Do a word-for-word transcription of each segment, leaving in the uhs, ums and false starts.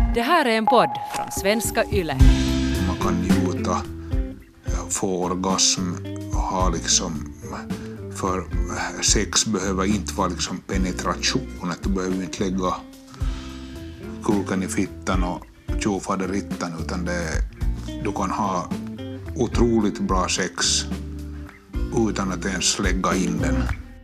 Det här är en podd från Svenska Yle. Man kan njuta, få orgasm och ha liksom, för sex behöver inte vara liksom penetration, att du behöver inte lägga kulken i fittan och tjofaderittan, utan det, du kan ha otroligt bra sex utan att ens lägga in den.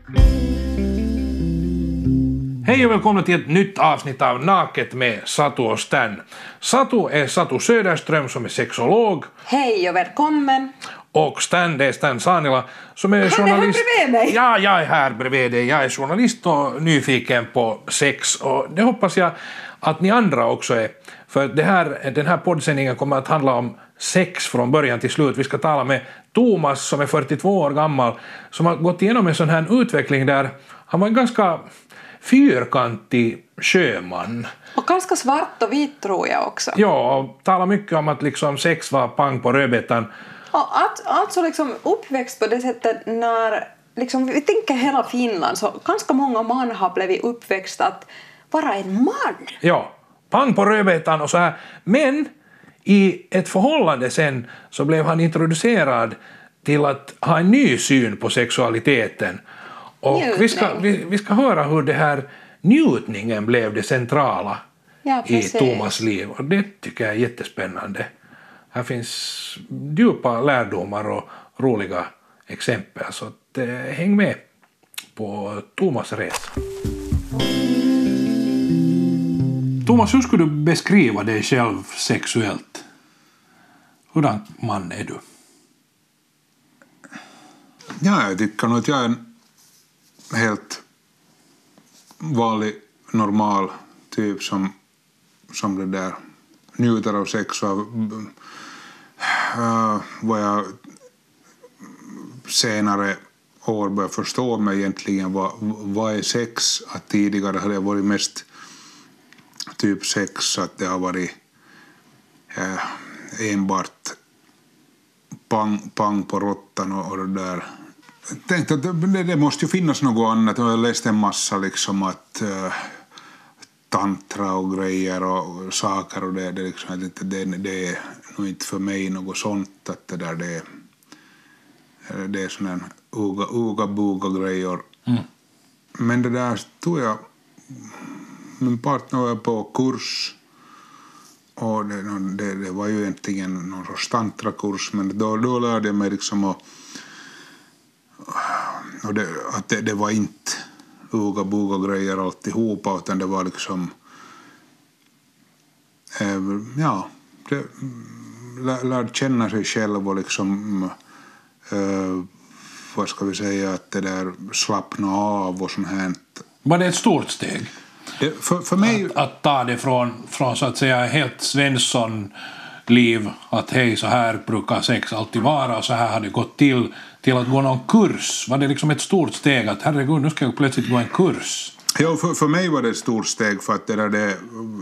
Hej och välkomna till ett nytt avsnitt av Naket med Satu och Stan. Satu är Satu Söderström som är sexolog. Hej och välkommen. Och Stan, det är Stan Sanila som är journalist. Han är här bredvid mig. Ja, jag är här bredvid dig. Jag är journalist och nyfiken på sex. Och det hoppas jag att ni andra också är. För det här, den här poddsändningen kommer att handla om sex från början till slut. Vi ska tala med Thomas som är fyrtiotvå år gammal, som har gått igenom en sån här utveckling där han var en ganska fyrkantig sjöman. Och ganska svart och vit tror jag också. Ja, och talar mycket om att liksom sex var pang på rödbetan. Och att, alltså liksom uppväxt på det sättet när liksom, vi tänker hela Finland, så ganska många man har blivit uppväxt att vara en man. Ja, pang på rödbetan och så här. Men i ett förhållande sen så blev han introducerad till att ha en ny syn på sexualiteten. Och vi ska, vi, vi ska höra hur det här njutningen blev det centrala ja, i Thomas liv. Och det tycker jag är jättespännande. Här finns djupa lärdomar och roliga exempel. Så att, eh, häng med på Thomas resa. Thomas, hur skulle du beskriva dig själv sexuellt? Hurdan man är du? Ja, jag tycker nog att jag är en helt vanlig, normal typ som, som det där njuter av sex. Och, uh, vad jag senare år började förstå mig egentligen vad, vad är sex. Att tidigare hade jag varit mest typ sex, att det har varit uh, enbart pang, pang på råttan och, och det där. Jag tänkte att det, det måste ju finnas något annat. Jag läste en massa liksom att uh, tantra och grejer och saker, och det, det, liksom, det, det, det är nog inte för mig något sånt, att det där det, det är sån en uga, uga buga grejer. Mm. Men det där tog jag, min partner var på kurs, och det, det, det var ju egentligen någon sorts tantrakurs, men då, då lärde jag mig liksom att och det, att det, det var inte uga buga grejer alltihopa, utan det var liksom eh, ja, det, lär, lärde känna sig själv och liksom eh, vad ska vi säga, att det där slappna av och sånt här. Var det ett stort steg? Det, för, för mig... att, att ta det från, från så att säga helt Svensson liv, att hej, så här brukar sex alltid vara och så här har det gått till, till att gå någon kurs? Var det liksom ett stort steg att herregud, nu ska jag plötsligt gå en kurs? Ja, för, för mig var det ett stort steg, för att det där det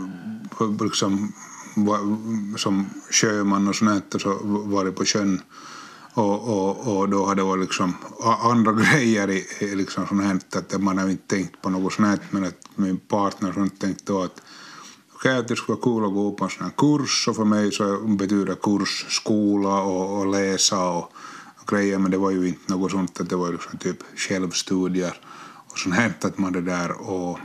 liksom var, som sjöman och sånt, och så var det på sjön, och, och, och då hade det varit liksom andra grejer i, i liksom sånt, att man har inte tänkt på något sånt, men att min partner sånt tänkte då att okej, att det skulle vara kul att gå på en sån här kurs, och för mig så betyder kurs skola och, och läsa och, och grejer, men det var ju inte något sånt, att det var liksom typ självstudier och sånt här, att man det där, och,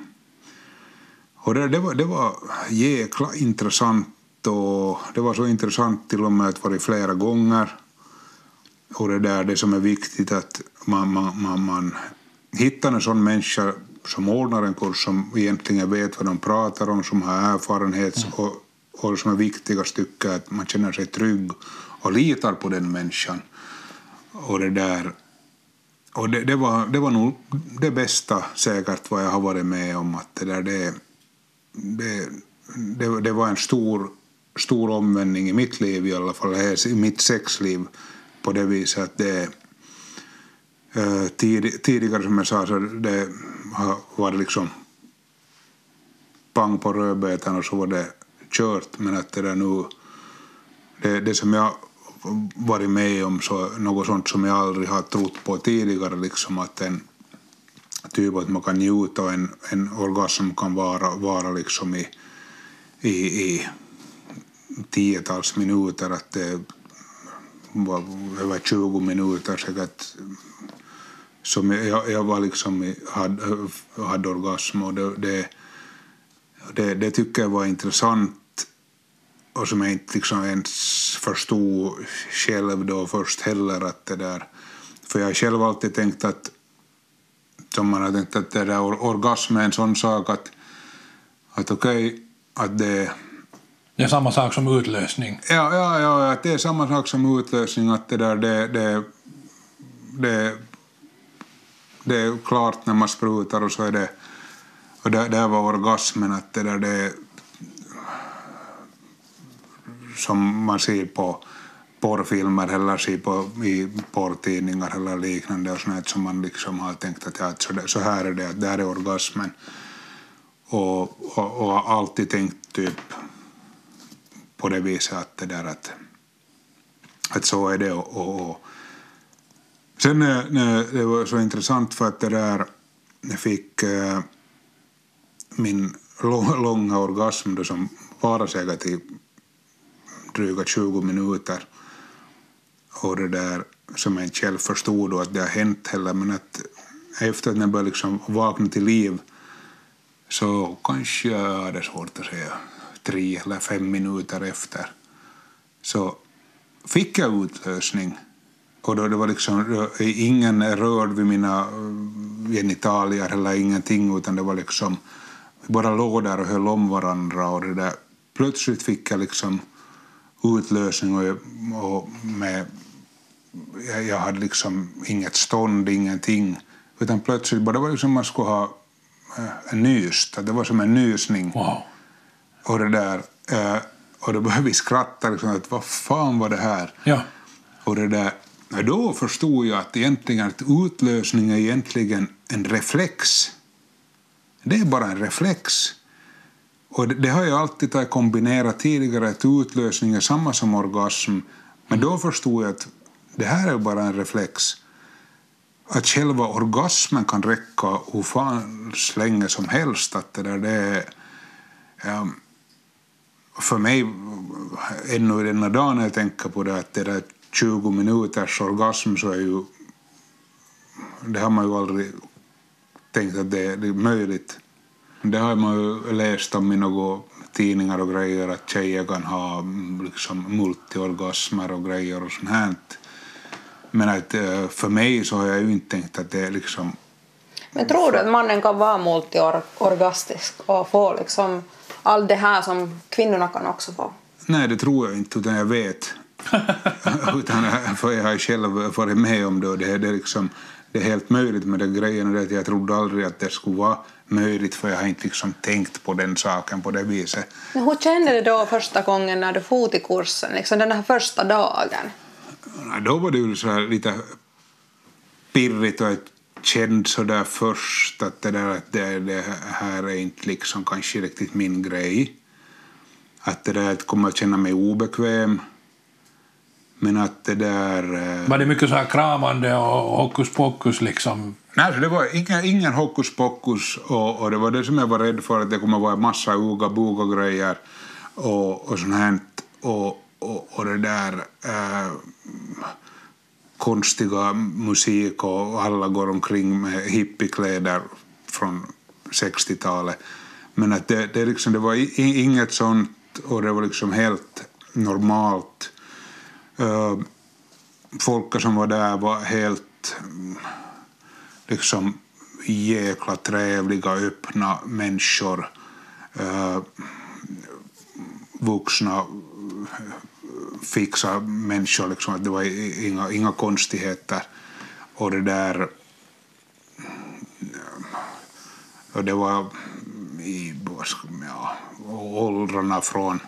och det, det, var, det var jäkla intressant, och det var så intressant till och med att vara flera gånger, och det där det som är viktigt, att man, man, man, man hittar en sån människa som ordnar en kurs, som egentligen vet vad de pratar om, som har erfarenhet, mm. och, och som är viktiga stycken, att man känner sig trygg och litar på den människan. Och det där, och det, det, var, det var nog det bästa säkert vad jag har varit med om, att det där det, det, det, det var en stor, stor omvändning i mitt liv, i alla fall i mitt sexliv, på det viset att det Uh, tid, tidigare som jag sa, så det var det liksom pang på rödbetan och så var det kört, men att det där nu det, det som jag varit med om, så något sånt som jag aldrig har trott på tidigare, liksom att en typ att man kan njuta, och en, en orgasm kan vara, vara liksom i i, i tiotals minuter, att det var över tjugo minuter säkert som jag, jag var liksom hade, hade orgasm, och det, det, det, det tycker jag var intressant, och som jag inte liksom ens förstod själv då först heller, att det där, för jag har själv alltid tänkt att som man har tänkt att det där orgasm är en sån sak att, att okej, okay, att det det är samma sak som utlösning. Ja, ja, ja, att det är samma sak som utlösning, att det där det, det, det, det är klart när man sprutar, och så är det, och det, det var orgasmen, att det där det som man ser på porrfilmer eller ser på i porrtidningar eller liknande, och sånt som man liksom har tänkt att ja, så, det, så här är det, att det här är orgasmen, och, och, och alltid tänkt typ på det viset att det där att, att så är det, och, och, och. Sen när det var så intressant för att det där jag fick äh, min långa orgasm då, som var säkert i dryga tjugo minuter, och det där som jag inte själv förstod då att det har hänt heller, men att efter att jag började liksom vakna till liv, så kanske jag hade svårt att säga tre eller fem minuter efter, så fick jag utlösning, och då det var liksom ingen rörd vid mina genitalier eller ingenting, utan det var liksom vi bara låg där och höll om varandra, och det där plötsligt fick jag liksom utlösning, och, och med jag, jag hade liksom inget stånd, ingenting, utan plötsligt bara det var liksom man skulle ha en nyst, det var som en nysning. Wow. Och det där, eh, och då började vi skratta liksom, att vad fan var det här? Ja. Och det där, då förstod jag att egentligen att utlösning är egentligen en reflex. Det är bara en reflex. Och det, det har jag alltid tagit kombinerat tidigare, att utlösning är samma som orgasm. Men då förstod jag att det här är bara en reflex. Att själva orgasmen kan räcka hur fan länge som helst. Att det där, det är... Ja, för mig ännu i denna dagen när jag tänker på det, att det där tjugo minuters orgasm, så är ju det har man ju aldrig tänkt att det är, det är möjligt. Det har man ju läst om i några tidningar och grejer, att tjejer kan ha liksom multiorgasmer och grejer och sånt här. Men att för mig så har jag ju inte tänkt att det är liksom... Men tror du att mannen kan vara multiorgastisk och få liksom allt det här som kvinnorna kan också få? Nej, det tror jag inte, utan jag vet. utan för jag har själv varit med om det, och det är, det är, liksom, det är helt möjligt med den grejen. Och det, jag trodde aldrig att det skulle vara möjligt, för jag har inte liksom tänkt på den saken på det viset. Men hur kände du då första gången när du for till kursen, liksom den här första dagen? Då var det ju så här lite pirrigt, och jag kände så där först att det, där, att det, det här är inte liksom kanske riktigt min grej. Att det där att kommer att känna mig obekväm. Men att det där... Var det mycket så här kramande och hokus pokus liksom? Nej, så det var ingen, ingen hokus pokus, och, och det var det som jag var rädd för, att det kommer att vara en massa uga buga grejer och, och sånt här. Och, och, och det där äh, konstiga musik, och alla går omkring med hippiekläder från sextiotalet. Men att det, det, liksom, det var i, inget sånt, och det var liksom helt normalt. Uh, folk som var där var helt liksom jäkla trevliga, öppna människor, uh, vuxna fixa människor liksom, att det var inga, inga konstigheter, och det där och det var i ja, åldrarna från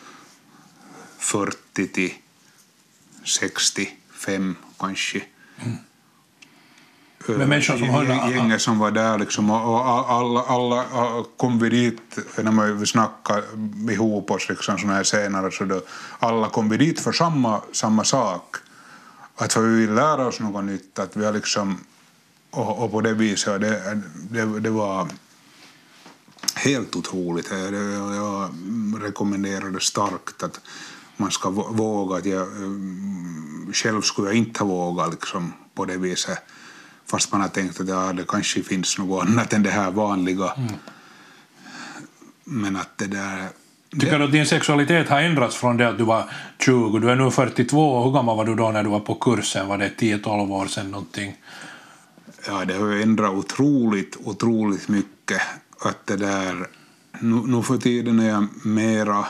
fyrtio till sextiofem kanske. Mm. Med människor som har gänget som var där liksom, och alla, alla kom vi dit när vi snackade ihop oss liksom, såna här senare, så då, alla kom vi dit för samma, samma sak, att vi vill lära oss något nytt, att vi har liksom, och, och på det viset det, det, det var helt otroligt. Jag, jag rekommenderar det starkt att man ska våga. Att jag, själv skulle jag inte ha vågat liksom, på det viset. Fast man har tänkt att ja, det kanske finns något annat än det här vanliga. Mm. Men att det där... Tycker du att din sexualitet har ändrats från det att du var tjugo? Du är nu fyrtiotvå. Hur gammal var du då när du var på kursen? Var det tio tolv år sedan någonting? Ja, det har ju ändrat otroligt, otroligt mycket. Att det där... Nu, nu för tiden är jag mera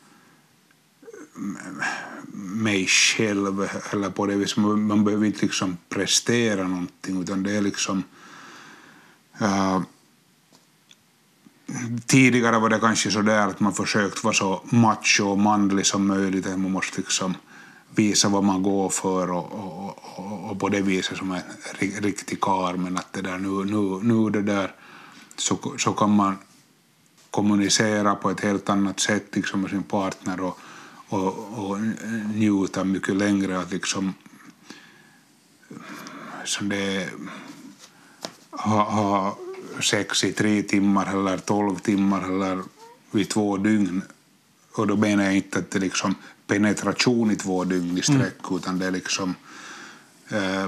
mig själv. Eller på det viset. Man, man behöver inte liksom prestera någonting. Utan det är liksom... Uh, Tidigare var det kanske så där att man försökt vara så macho och manlig som möjligt. Att man måste liksom visa vad man går för och, och, och, och på det viset som en riktig karl. Men att det där nu, nu, nu det där så, så kan man kommunicera på ett helt annat sätt liksom med sin partner och, och, och njuta mycket längre. Att liksom som det ha, ha sex i tre timmar eller tolv timmar eller vid två dygn. Och då menar jag inte att det är liksom penetration i två dygn i sträck mm. utan det är liksom eh,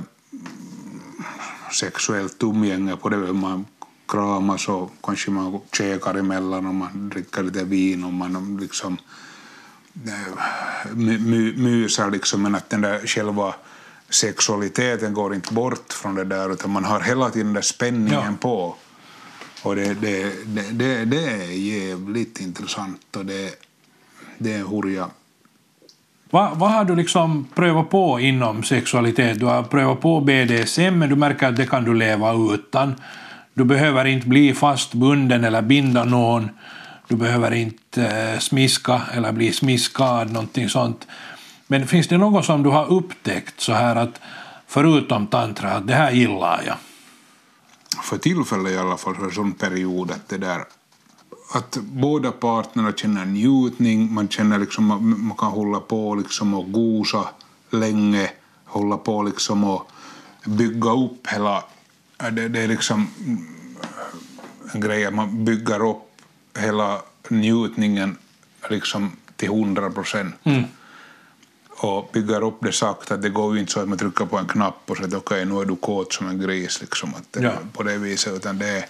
sexuellt umgänge på det. Man kramas och kanske man käkar emellan och man dricker lite vin och man liksom eh, my, mysar liksom, men att den där själva sexualiteten går inte bort från det där utan man har hela tiden den där spänningen ja. på. Och det, det, det, det, det är jävligt intressant och det, det är hurja. Va, vad har du liksom prövat på inom sexualitet? Du har prövat på B D S M men du märker att det kan du leva utan. Du behöver inte bli fastbunden eller binda någon. Du behöver inte eh, smiska eller bli smiskad, någonting sånt. Men finns det något som du har upptäckt så här att förutom tantra att det här gillar jag? För tillfället i alla fall för en sån period att det där att båda partnerna känner njutning, man känner liksom man kan hålla på liksom och gosa länge, hålla på liksom och bygga upp hela det, det är liksom en grej att man bygger upp hela njutningen liksom till hundra procent. Mm. Och bygger upp det sagt att det går ju inte så att man trycker på en knapp och säger okej, okay, nu är du kåt som en gris liksom, att ja. på det viset, utan det,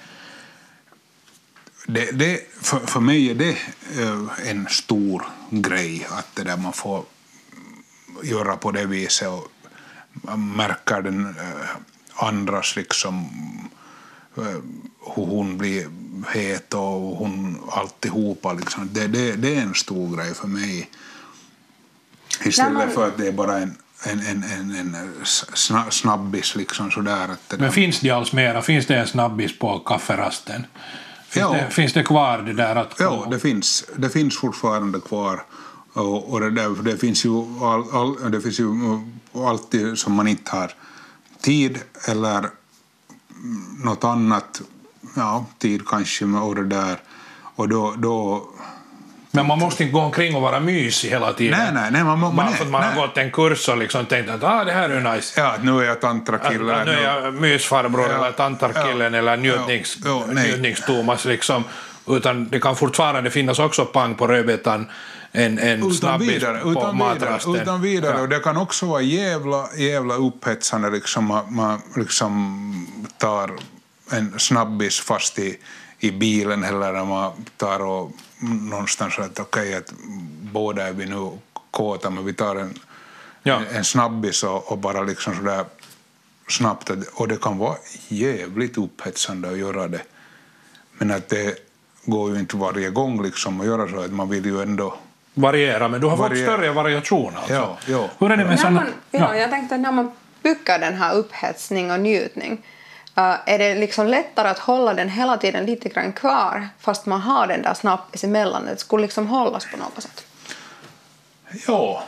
det, det för, för mig är det en stor grej att det där man får göra på det viset och man märker den andras liksom hur hon blir het och hon alltihopa liksom, det, det, det är en stor grej för mig. Istället man... för att det är bara en, en, en, en, en snabbis liksom sådär. Att det men finns det alls mera? Finns det en snabbis på kafferasten? Finns, ja. det, finns det kvar det där att... Ja, det finns, det finns fortfarande kvar. Och, och det, där, det, finns ju all, all, det finns ju alltid som man inte har tid eller något annat. Ja, tid kanske med och det där. Och då... då men man måste inte gå omkring och vara mysig hela tiden. Nej, nej, nej. Man, man, bara för att man nej. har gått en kurs och liksom tänkt att ah, det här är nice. Ja, nu är jag tantrakille. Att, nu är jag mysfarbror ja, eller tantarkillen ja, eller njutnings, ja, ja, njutningstomas liksom. Utan det kan fortfarande finnas också pang på rödbetan en, en snabbis på utan matrasten. Utan vidare. Ja. Och det kan också vara jävla, jävla upphetsande liksom man, man liksom tar en snabbis fast i, i bilen eller när man tar och någonstans att okej okay, att båda är vi nu kåta men vi tar en, ja. en, en snabbis och, och bara liksom sådär snabbt och det kan vara jävligt upphetsande att göra det men att det går ju inte varje gång liksom att göra så att man vill ju ändå variera men du har variera. fått större variation alltså. Ja, ja. Hur är det med såna... man, ja, ja. Jag tänkte att när man bygger den här upphetsning och njutning Uh, är det liksom lättare att hålla den hela tiden lite grann kvar fast man har den där snabbis emellan? Det skulle liksom hållas på något sätt. Ja.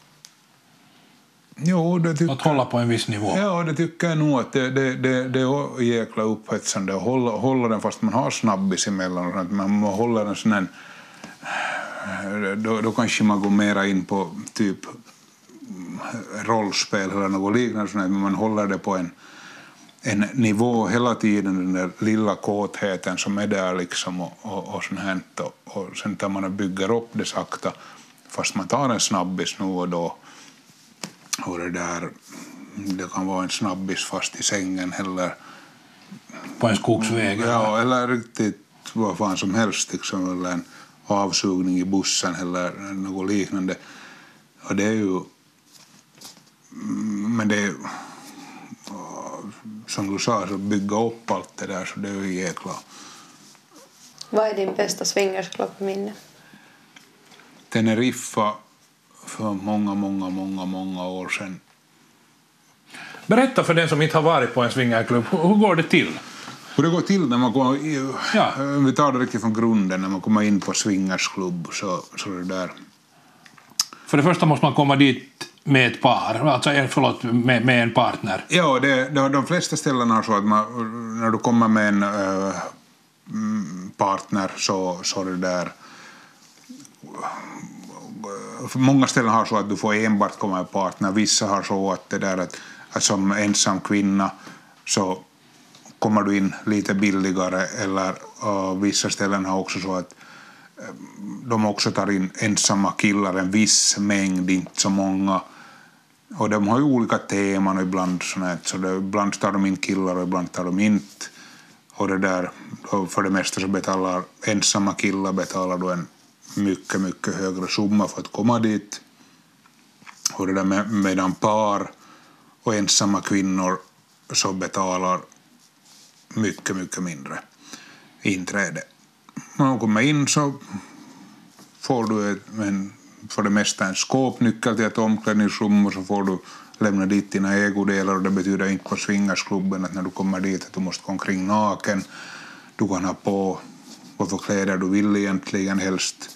Jo, det tycker, att hålla på en viss nivå. Ja, det tycker jag nog att det, det, det, det är jäkla upphetsande att hålla, hålla den fast man har snabbis emellan. Att man håller en sån här, då, då kanske man går mera in på typ rollspel eller något liknande, men man håller det på en en nivå hela tiden, den där lilla kåtheten som är där liksom och, och, och sånt här, och, och sen tar man och bygger upp det sakta fast man tar en snabbis nu och då och det där, det kan vara en snabbis fast i sängen eller på en skogsväg. Ja, eller riktigt vad fan som helst liksom, eller en avsugning i bussen eller något liknande. Och det är ju men det är som du sa, så bygga upp allt det där, så det är ju jäkla. Vad är din bästa swingersklubbminne? Teneriffa för många, många, många, många år sedan. Berätta för den som inte har varit på en swingerklubb, hur går det till? Hur det går till när man kommer, ja. Vi tar det riktigt från grunden, när man kommer in på swingersklubb, så, så det där. För det första måste man komma dit med ett par, alltså förlåt, med, med en partner. Ja, det, de, de flesta ställen har så att man, när du kommer med en äh, partner så, så det där. Många ställen har så att du får enbart komma med partner, vissa har så att det där att, att som ensam kvinna så kommer du in lite billigare, eller uh, vissa ställen har också så att uh, de också tar in ensamma killar en viss mängd, inte så många, och de har ju olika teman och ibland sådär, så det, ibland tar de in killar och ibland tar de inte, och det där, för det mesta så betalar ensamma killar betalar då en mycket, mycket högre summa för att komma dit, och det där med, medan par och ensamma kvinnor så betalar mycket, mycket mindre inträde. När man kommer in så får du ett, en, för det mesta en skåpnyckel till ett omklädningsrum, och så får du lämna dit dina ägodelar, och det betyder inte på swingersklubben att när du kommer dit att du måste gå omkring naken. Du kan ha på vad för kläder du vill egentligen helst.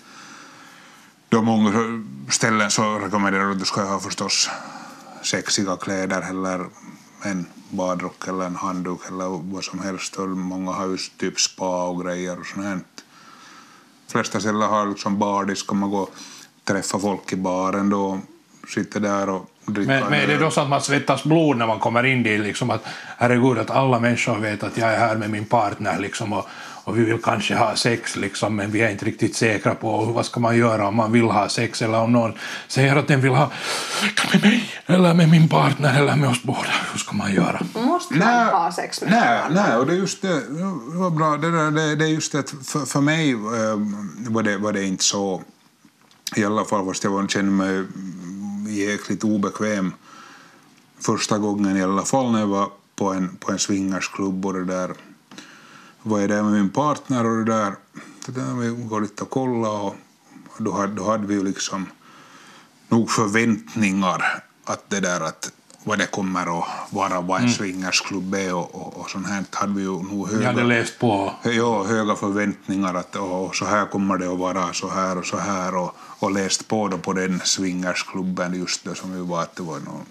Då många ställen så rekommenderar att du ska ha förstås sexiga kläder eller en badrock eller en handduk eller vad som helst. Och många har just typ spa och grejer och sånt här. De flesta ställen har liksom bardisk, och man går träffa folk i baren då, sitter där och dricker. Men, men är det då så att man svettas blod när man kommer in dit, liksom att herregud, att alla människor vet att jag är här med min partner liksom, och, och vi vill kanske ha sex liksom, men vi är inte riktigt säkra på vad ska man göra om man vill ha sex, eller om någon säger att den vill ha med mig eller med min partner eller med oss båda, hur ska man göra? Måste man nej, ha sex med nej, nej, och det är just det, det var bra, det, där, det, det är just det, för, för mig äh, var, det, var det inte så, i alla fall fast jag kände mig jäkligt obekväm första gången i alla fall när jag var på en, på en swingersklubb, och det där var jag där med min partner, och det där, det där vi går lite och kolla, och då hade, då hade vi ju liksom nog förväntningar att det där att vad det kommer att vara, vad en mm. swingersklubb är och, och, och sånt här hade vi ju nog höga, hade läst på. Ja, höga förväntningar att och, så här kommer det att vara, så här och så här, och, och läst på då på den swingersklubben just det som vi var, att det var någon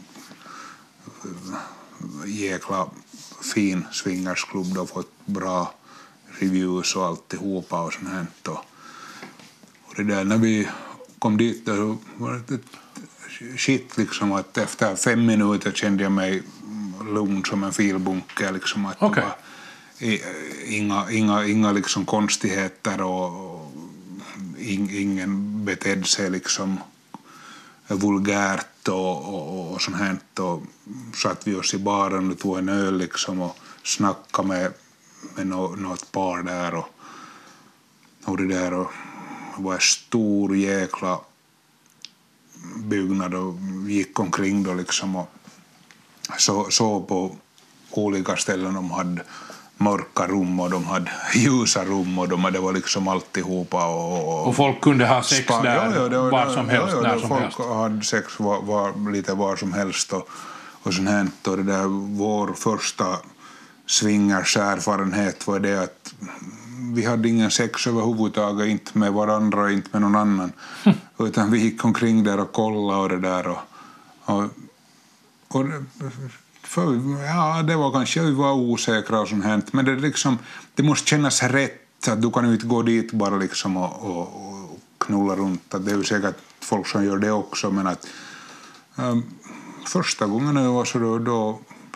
jäkla fin swingersklubb, då fått bra reviews och alltihopa och sånt här, och, och det där när vi kom dit då var det shit liksom, att efter fem minuter kände jag mig lugn som en filbunke liksom, att okay. Det var inga, inga, inga liksom konstigheter, och in, ingen betedde sig liksom vulgärt och, och, och sånt här, och satt vi oss i baren och tog en öl liksom och snackade med, med no, något par där, och, och det där, och det var en stor jäkla byggnad, och gick omkring då liksom och så, så på olika ställen de hade mörka rum och de hade ljusa rum, och de hade var liksom alltihopa, och, och, och folk kunde ha sex spa, där ja, ja, det, var, var som helst, ja, ja, när som folk helst. Hade sex var, var, lite var som helst, och, och sånt här, och det där, vår första swingerserfarenhet var det att vi hade ingen sex överhuvudtaget, inte med varandra, inte med någon annan. Utan vi gick omkring där och kollade och det där. Och, och, och för, ja, det var kanske vi var osäkra och sånt här. Men det, liksom, det måste kännas rätt, att du kan ju inte gå dit bara liksom och, och, och knulla runt. Att det är ju säkert folk som gör det också, men att um, första gången jag var så då, då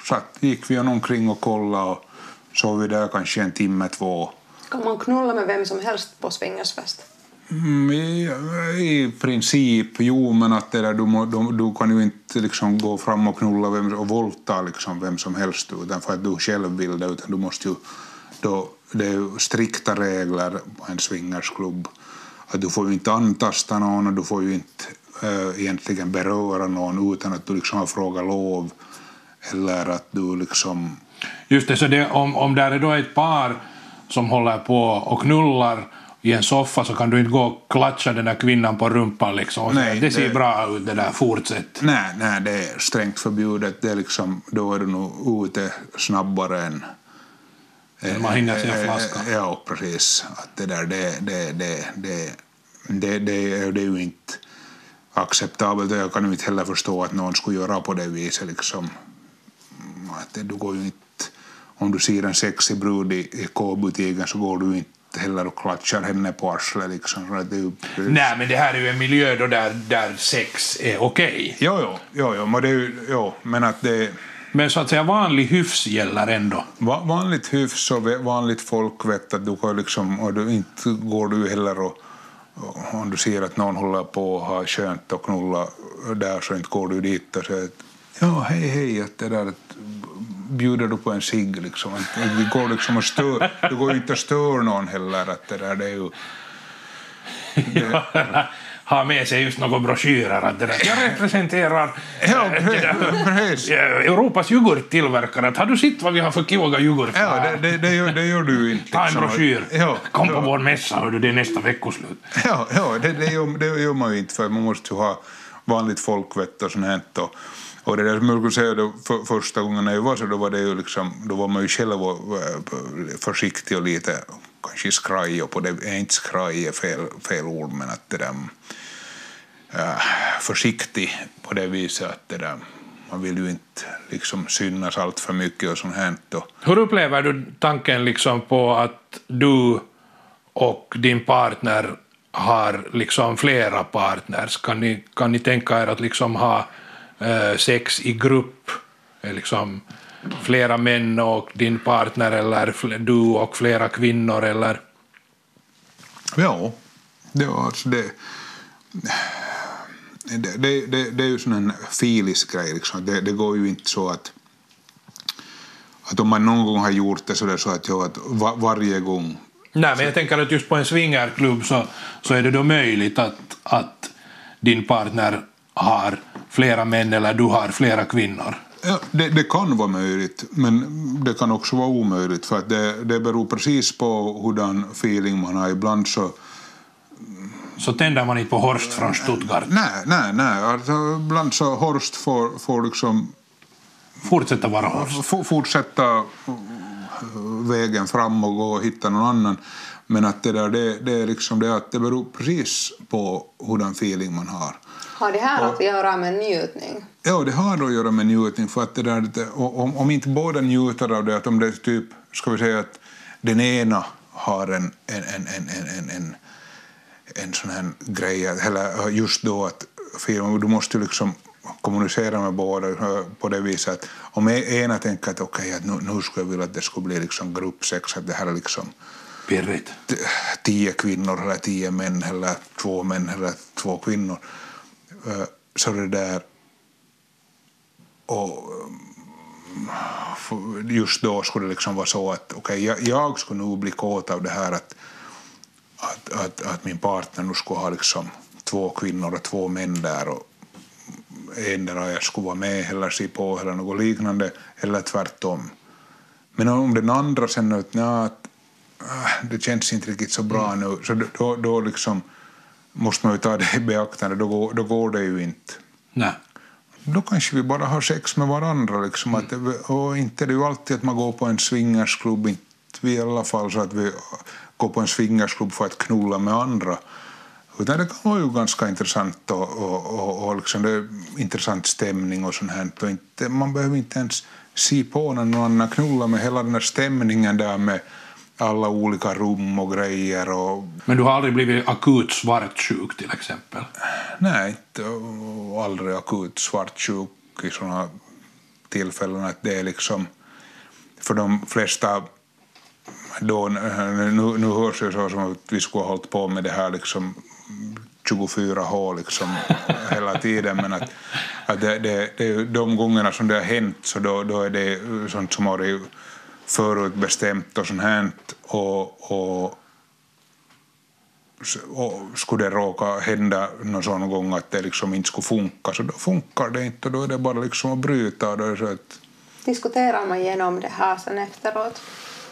satt, gick vi omkring och kollade och så vi där kanske en timme, två. Kan man knulla med vem som helst på swingersfest? Mm, i, I princip, jo, men att det där, du, må, du, du kan ju inte liksom gå fram och knulla vem, och volta liksom vem som helst utan för att du själv vill det, utan du måste ju då, det är ju strikta regler på en swingersklubb att du får ju inte antasta någon och du får ju inte äh, egentligen beröra någon utan att du liksom har frågat lov eller att du liksom... Just det, så det, om, om där är då ett par som håller på och knullar i en soffa så kan du inte gå och klatscha den där kvinnan på rumpan liksom. Nej, det ser det, bra ut det där, fortsätt. Nej, nej, det är strängt förbjudet. Det är liksom, då är du nog ute snabbare än... Man hinner se en flaska. Ja, precis. Att det där, det, det, det, det, det, det, är, det är ju inte acceptabelt. Jag kan ju inte heller förstå att någon skulle göra på det viset liksom. Att det, du går ju inte... Om du ser en sexig brud i, i K-butiken så går du inte heller och klatschar henne på arslet liksom. Det är ju... Nej, men det här är ju en miljö då där, där sex är okej. Jo, jo, jo, jo, men det är ju, jo, men att det... Men så att säga vanlig hyfs gäller ändå. Va, vanligt hyfs och vanligt folk vet att du kan liksom, och du inte går du heller och, och om du ser att någon håller på och har skönt och knulla där så inte går du dit och säger att ja, hej, hej, att det där att bjuder du på en cigg liksom. Det går liksom att stör, du går inte att störa någon heller att det där det är ju... Det, ja, ha med sig just några broschyrer att det där. Jag representerar ja, precis. Europas yoghurttillverkare. Har du sett vad vi har för kiloga yoghurt? Ja, det, det, det, gör, det gör du inte. Ta en broschyr. Ja, kom på ja. vår mässa, hör du, det är nästa veckoslut. Ja, ja det, det, gör, det gör man ju inte för man måste ju ha vanligt folkvett och sånt här. Och, och det där som jag skulle säga då, för, första gången när jag var så då var det ju liksom, då var man ju själv försiktig och lite kanske skraj och på det är inte skraj är fel, fel ord men att det där äh, försiktig på det viset att det där man vill ju inte liksom synas allt för mycket och sånt här. Och... Hur upplever du tanken liksom på att du och din partner har liksom flera partners? Kan ni, kan ni tänka er att liksom ha eh, sex i grupp? Liksom flera män och din partner eller du och flera kvinnor eller? Ja, det var alltså det... Det, det, det, det är ju sån en filisk grej liksom. Det, det går ju inte så att att om man någon gång har gjort det så där så att, jag, att var, varje gång. Nej, men jag tänker att just på en swingerklubb så, så är det då möjligt att, att din partner har flera män eller du har flera kvinnor. Ja, det, det kan vara möjligt, men det kan också vara omöjligt för att det, det beror precis på hurdan feeling man har. Ibland så Så tänder man inte på Horst från Stuttgart? Nej, nej, nej. Alltså, ibland så Horst får, får liksom... Fortsätta vara Horst? For, fortsätta vägen fram och gå och hitta någon annan. Men att det där, det, det är liksom det att det beror precis på hurdan feeling man har. Har det här och, att göra med njutning? Ja, det har att göra med njutning. För att det där, om, om inte båda njuter av det, att om det är typ, ska vi säga att den ena har en, en, en, en, en, en en sån här grej, eller just då att du måste liksom kommunicera med båda på det viset att om ena tänker att okej, okay, att nu, nu skulle jag vilja att det skulle bli liksom gruppsex, att det här är liksom pirrigt. tio kvinnor eller tio män eller två män eller två kvinnor så det där och just då skulle det liksom vara så att okej, okay, jag, jag skulle nog bli kåt av det här att Att, att, att min partner nu skulle ha liksom två kvinnor och två män där och en där jag skulle vara med eller se på eller något liknande eller tvärtom. Men om den andra sen att, ja, att det känns inte riktigt så bra mm. nu så då, då liksom måste man ju ta det i beaktande, då går, då går det ju inte. Nej. Då kanske vi bara har sex med varandra liksom, mm. att, och inte det är ju alltid att man går på en swingersklubb, inte vi i alla fall så att vi gå på en swingersklubb för att knulla med andra. Utan det kan vara ju ganska intressant och, och, och, och liksom det är intressant stämning och sånt här. Och inte, man behöver inte ens se på när någon annan knulla med hela den här stämningen där med alla olika rum och grejer. Och... Men du har aldrig blivit akut svartsjuk till exempel? Nej, inte, och aldrig akut svartsjuk i såna tillfällen att det är liksom för de flesta då, nu, nu hörs det så som att vi skulle ha hållit på med det här liksom tjugofyra år liksom hela tiden, men att, att det, det, det är de gångerna som det har hänt så då, då är det sånt som har förutbestämt och sånt här och, och, och skulle det råka hända någon sån gång att det liksom inte skulle funka så då funkar det inte och då är det bara liksom att bryta och då är det så att diskuterar man igenom det här sen efteråt?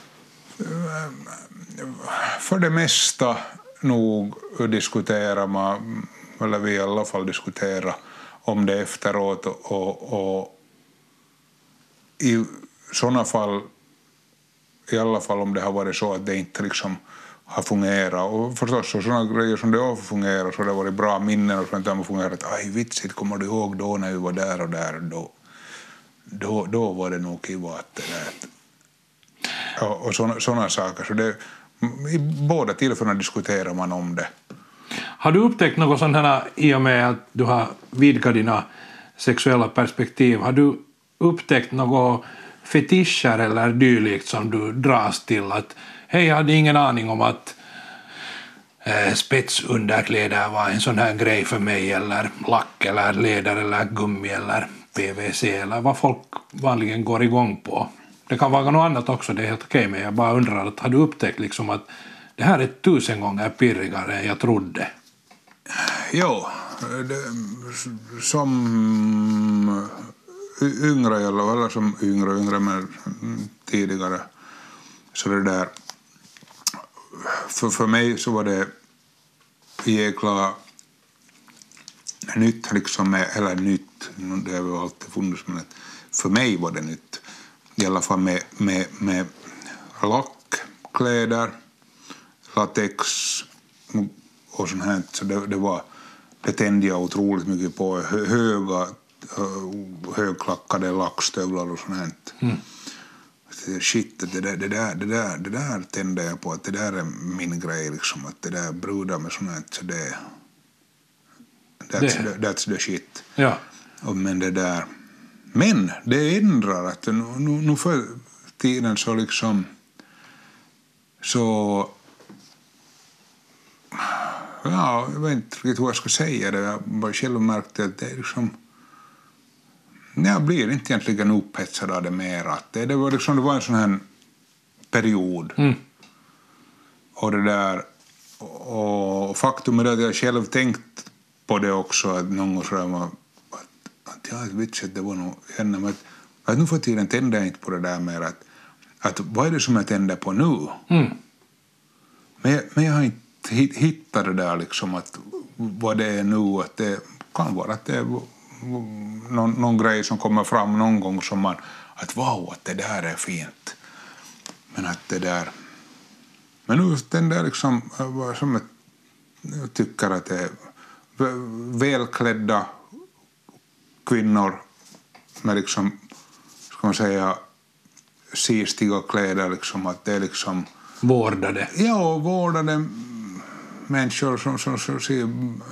För det mesta nog diskuterar man, eller vi i alla fall diskuterar om det efteråt och, och, och i sådana fall, i alla fall om det har varit så att det inte liksom har fungerat och förstås så sådana grejer som det har fungerat så det har varit bra minnen och sånt där har fungerat att aj vitsigt kommer du ihåg då när vi var där och där då, då, då var det nog kiva att det där och, och sådana, sådana saker så det i båda tillfällena diskuterar man om det. Har du upptäckt något sånt här i och med att du har vidgat dina sexuella perspektiv? Har du upptäckt något fetischer eller dylikt som du dras till? Att hej, jag hade ingen aning om att eh, spetsunderkläder var en sån här grej för mig eller lack eller leder eller gummi eller P V C eller vad folk vanligen går igång på. Det kan vara något annat också, det är helt okej, men jag bara undrar att har du upptäckt liksom att det här är tusen gånger pirrigare än jag trodde? Jo, det, som yngre eller, eller som yngre, yngre men tidigare så det där för, för mig så var det jäkla nytt liksom med, eller nytt, det har väl alltid funnits men för mig var det nytt. I alla fall med, med, med lackkläder, latex och sånt här. Så det, det, var, det tände jag otroligt mycket på. Höga, högklackade lackstövlar och sånt här. Mm. Shit, det där, det, där, det, där, det där tände jag på. Att det där är min grej. Liksom, att det där brudar med sånt här. Så det, that's, det. The, that's the shit. Ja. Och, men det där... Men det ändrar att nu, nu för tiden så liksom så ja, jag vet inte riktigt hur jag ska säga det. Jag bara själv märkte att det är liksom jag blir inte egentligen upphetsad av det mer. Att det, det, var liksom, det var en sån här period. Mm. Och det där och faktum är att jag själv tänkt på det också att någon gång så var att jag vet att det var nog henne att, att nu för tiden tänder jag inte på det där mer att, att vad är det som jag tänder på nu? Mm. Men, men jag har inte hittat det där liksom att vad det är nu att det kan vara att det är någon, någon grej som kommer fram någon gång som man att wow att det där är fint men att det där men nu den där liksom som jag, jag tycker att det är välklädda kvinnor med liksom ska man säga sistiga kläder liksom att det är liksom vårdade. Ja, vårdade människor som, som, som ser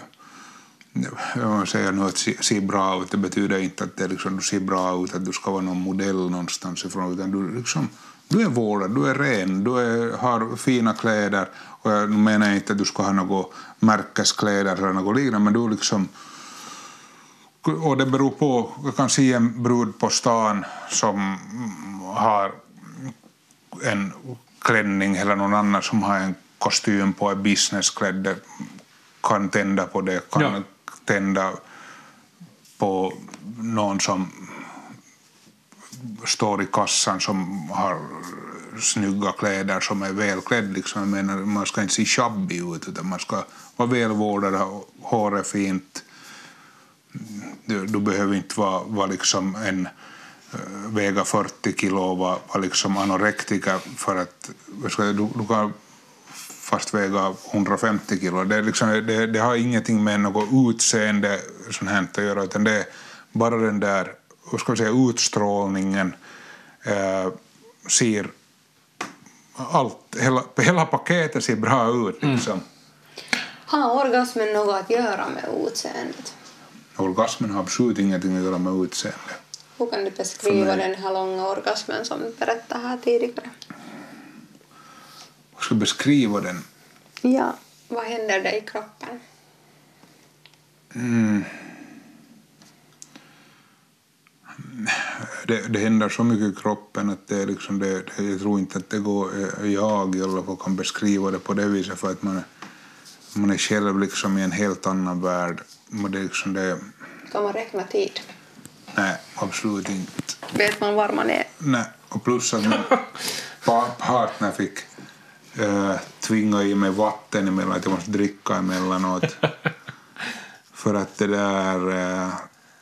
jag säger nu att se, se bra ut det betyder inte att det liksom, du ser bra ut att du ska vara någon modell någonstans ifrån utan du liksom du är vårdad, du är ren, du är, har fina kläder och jag menar inte att du ska ha något märkeskläder eller något liknande men du liksom och det beror på, jag kan se en brud på stan som har en klänning eller någon annan som har en kostym på en businessklädd kan tända på det, kan ja. tända på någon som står i kassan som har snygga kläder som är välklädd liksom. Jag menar, man ska inte se shabby ut utan man ska vara välvårdad, håret fint. Du, du behöver inte vara, vara liksom en uh, väga fyrtio kilo och vara, vara liksom anorektiker för att du, du kan fast väga hundrafemtio kilo. Det, är liksom, det, det har ingenting med något utseende sånt här att göra utan det är bara den där vad ska jag säga, utstrålningen uh, ser allt, hela, hela paketet ser bra ut liksom. Mm. Har orgasmen något att göra med utseendet? Orgasmen har absolut ingenting att göra med utseende. Hur kan du beskriva den här långa orgasmen som du berättade här tidigare? Hur ska jag beskriva den? Ja, vad händer det i kroppen? Mm. Det, det händer så mycket i kroppen att det är liksom det, det, jag tror inte att det går, jag i alla fall kan beskriva det på det viset, för att man, man är själv liksom i en helt annan värld. Och det är liksom det, kan man räkna tid? Nej, absolut inte. Vet man var man är? Nej, och plus att min partner fick äh, tvinga i mig vatten emellan, att jag måste dricka emellanåt. För att det där... Äh,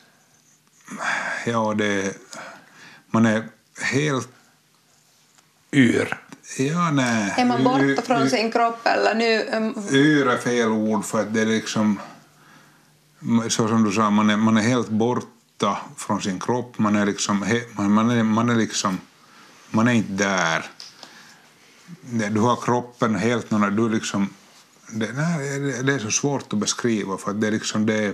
ja, det... Man är helt... Yr. Ja, nej. Är man borta från y- sin kropp eller nu... Um... Yr är fel ord, för att det är liksom... Så som du sa, man är, man är helt borta från sin kropp. Man är liksom... Man är, man är liksom... Man är inte där. Du har kroppen helt någon... Du liksom... Det, nej, det är så svårt att beskriva, för att det är liksom det...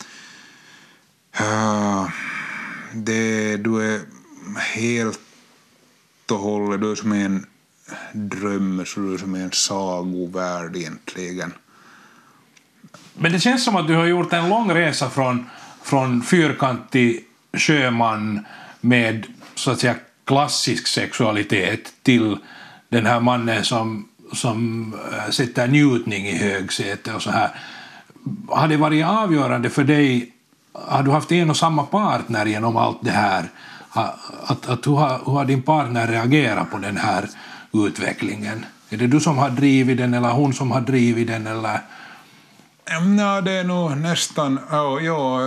Uh, det du är helt och hållet, du är som en dröm, så du är som en sagovärld egentligen. Men det känns som att du har gjort en lång resa från, från fyrkantig sjöman med så att säga klassisk sexualitet till den här mannen som, som sätter njutning i högsäte och så här. Har det varit avgörande för dig? Har du haft en och samma partner genom allt det här? Att, att, hur, har, hur har din partner reagerat på den här utvecklingen? Är det du som har drivit den eller hon som har drivit den? Eller? Ja, det är nog nästan... Ja, ja,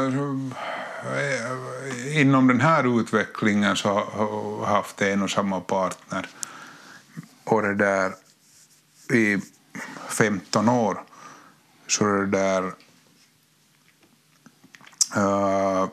inom den här utvecklingen så har jag haft en och samma partner. Och det där i femton år. Så det där... Uh,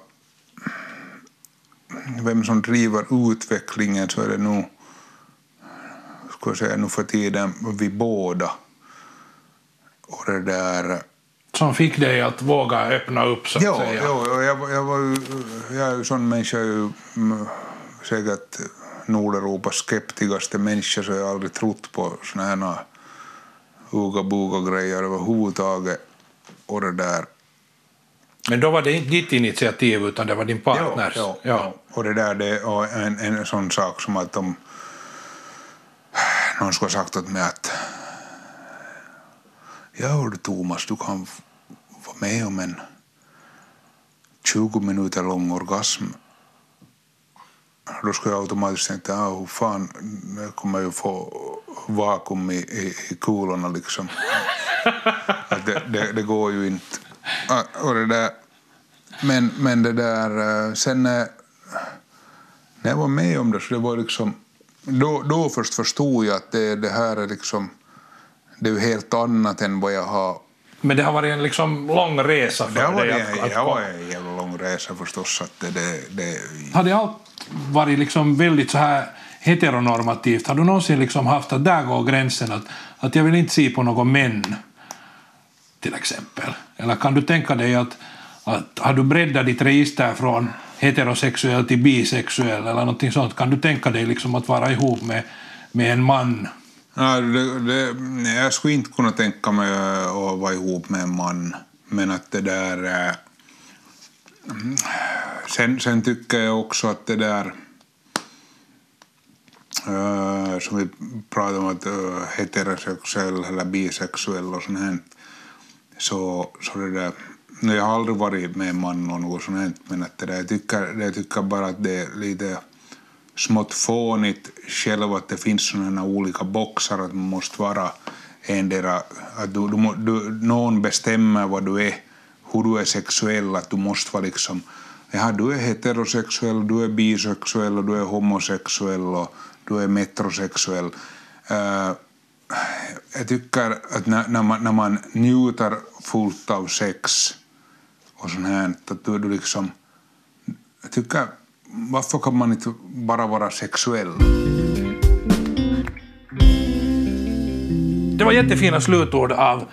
vem som driver utvecklingen, så är det nog, ska jag säga, nu för tiden vi båda. Och det där... Som fick dig att våga öppna upp, så att ja, säga. Ja, jag, jag, var ju, jag är ju sån människa, ju, säkert Nordeuropas skeptigaste människa, så jag har aldrig trott på såna här uga-buga-grejer överhuvudtaget. Och det där... Men då var det inte ditt initiativ, utan det var din partners. Ja, ja, ja. Och det där, det är en, en sån sak som att de, någon skulle ha sagt åt mig att ja, hördu Thomas, du kan vara med om en tjugo minuter lång orgasm. Då skulle jag automatiskt tänka, ja, hur fan, jag kommer ju få vakuum i, i, i kulorna liksom. Att det, det, det går ju inte. Och det där, men, men det där, sen när, när jag var med om det, så det var liksom, då, då först förstod jag att det, det här är liksom, det är ju helt annat än vad jag har. Men det har varit en liksom lång resa för det har dig varit, att, att det har varit en jävla lång resa förstås. Att det, det, det... Har det allt varit liksom väldigt så här heteronormativt? Har du någonsin liksom haft att där går gränsen att, att jag vill inte se på någon män till exempel? Eller kan du tänka dig att, att har du breddat ditt register från heterosexuell till bisexuell eller någonting sånt? Kan du tänka dig liksom att vara ihop med, med en man? Ja, det, det, jag skulle inte kunna tänka mig att vara ihop med en man. Men att det där... Sen, sen tycker jag också att det där... Uh, som vi pratar om att uh, heterosexuell eller bisexuell och sånt här. Så, så det där... Jag har aldrig varit med en man och något sånt här. Men att det där, jag, tycker, jag tycker bara att det är lite... smått fånigt själv att det finns sådana olika boxar att man måste vara endera, att du, du, du, någon bestämmer vad du är, hur du är sexuell, att du måste vara liksom, ja, du är heterosexuell, du är bisexuell och du är homosexuell och du är metrosexuell. Uh, jag tycker att när, när, man, när man njuter fullt av sex och sånt här, att du, du liksom, jag tycker, varför kan man inte bara vara sexuell? Det var jättefina slutord av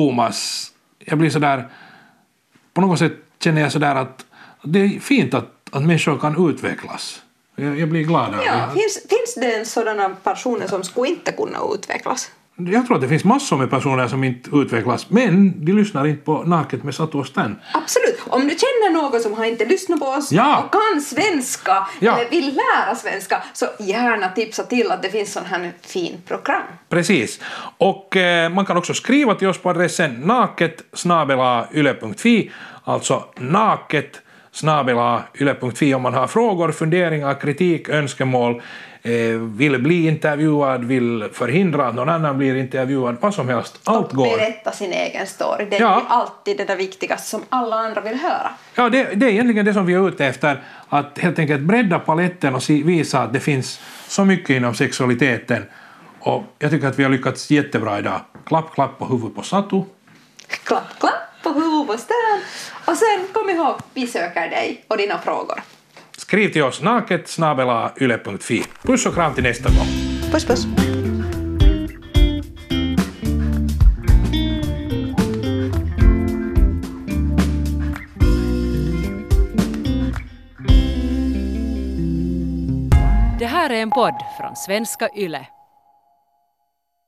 Thomas. Jag blir så där, på något sätt känner jag så där att det är fint att, att människor kan utvecklas. Jag, jag blir glad av Ja, det. finns, finns det sådana personer som skulle inte kunna utvecklas? Jag tror att det finns massor med personer som inte utvecklas, men de lyssnar inte på Naket med Satu och Stan. Absolut. Om du känner någon som har inte lyssnat på oss Ja. och kan svenska Ja. eller vill lära svenska, så gärna tipsa till att det finns sån här fin program. Precis. Och eh, man kan också skriva till oss på adressen naket snabel-a yle punkt fi, alltså naket snabel-a yle punkt fi om man har frågor, funderingar, kritik, önskemål, eh, vill bli intervjuad, vill förhindra att någon annan blir intervjuad, vad som helst. Allt Och går. berätta sin egen story. Det är Ja. ju alltid det där viktigaste som alla andra vill höra. Ja, det, det är egentligen det som vi är ute efter, att helt enkelt bredda paletten och si, visa att det finns så mycket inom sexualiteten. Och jag tycker att vi har lyckats jättebra idag. Klapp, klapp på huvudet på Satu. Klapp, klapp på huvudet på Stan. Och sen kom ihåg, vi söker dig och dina frågor. Skriv till oss naket snabel-a yle punkt fi. Puss och kram till nästa gång. Puss puss. Det här är en podd från svenska Yle.